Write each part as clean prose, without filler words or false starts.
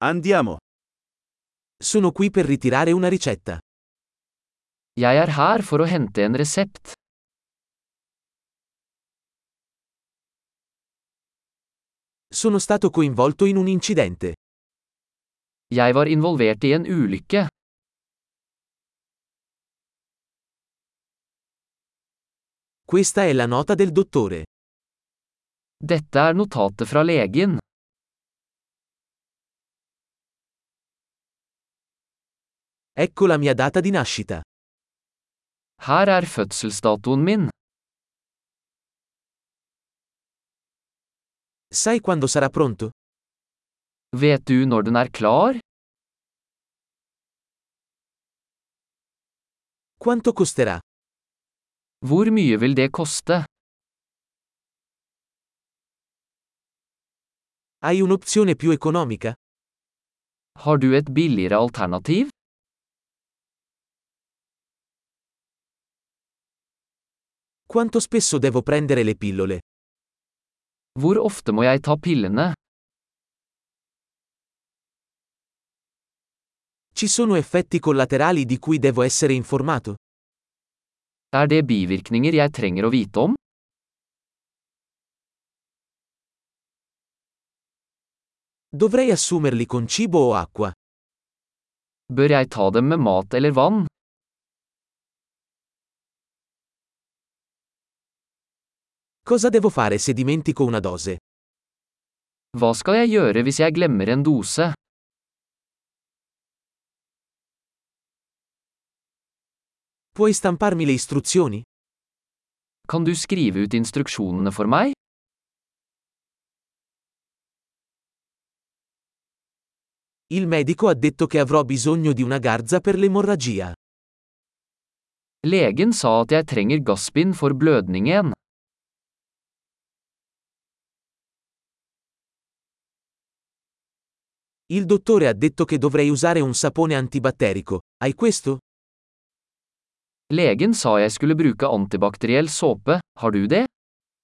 Andiamo. Sono qui per ritirare una ricetta. Jeg er her for å hente en resept. Sono stato coinvolto in un incidente. Jeg var involvert i en ulykke. Questa è la nota del dottore. Dette er notatet fra legen. Ecco la mia data di nascita. Her er fødselsdatoen min. Sai quando sarà pronto? Vet du når den er klar? Quanto costerà? Hvor mye vil det koste? Hai un'opzione più economica? Har du et billigere alternativ? Quanto spesso devo prendere le pillole? Hvor ofte må jeg ta pillene? Ci sono effetti collaterali di cui devo essere informato? Er det bivirkninger jeg trenger å vite om? Dovrei assumerli con cibo o acqua? Bør jeg ta dem med mat eller vann? Cosa devo fare se dimentico una dose? Hva skal jeg gjøre hvis jeg glemmer en dose? Puoi stamparmi le istruzioni? Kan du skrive ut instruksjonene for meg? Il medico ha detto che avrò bisogno di una garza per l'emorragia. Legen sa at jeg trenger gassbind for blødningen. Il dottore ha detto che dovrei usare un sapone antibatterico. Hai questo? Legen sa jeg skulle bruke antibakteriell såpe, har du det?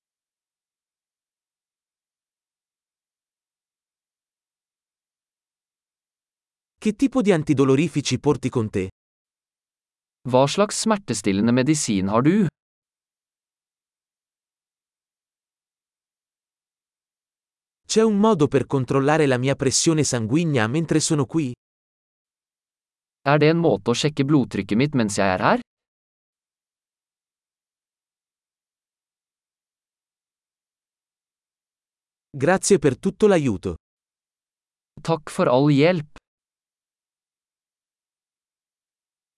Che tipo di antidolorifici porti con te? Hva slags smertestillende medisin har du? C'è un modo per controllare la mia pressione sanguigna mentre sono qui? Er det en måte å sjekke blodtrykket mitt mens jeg er her? Grazie per tutto l'aiuto. Takk for all hjelp.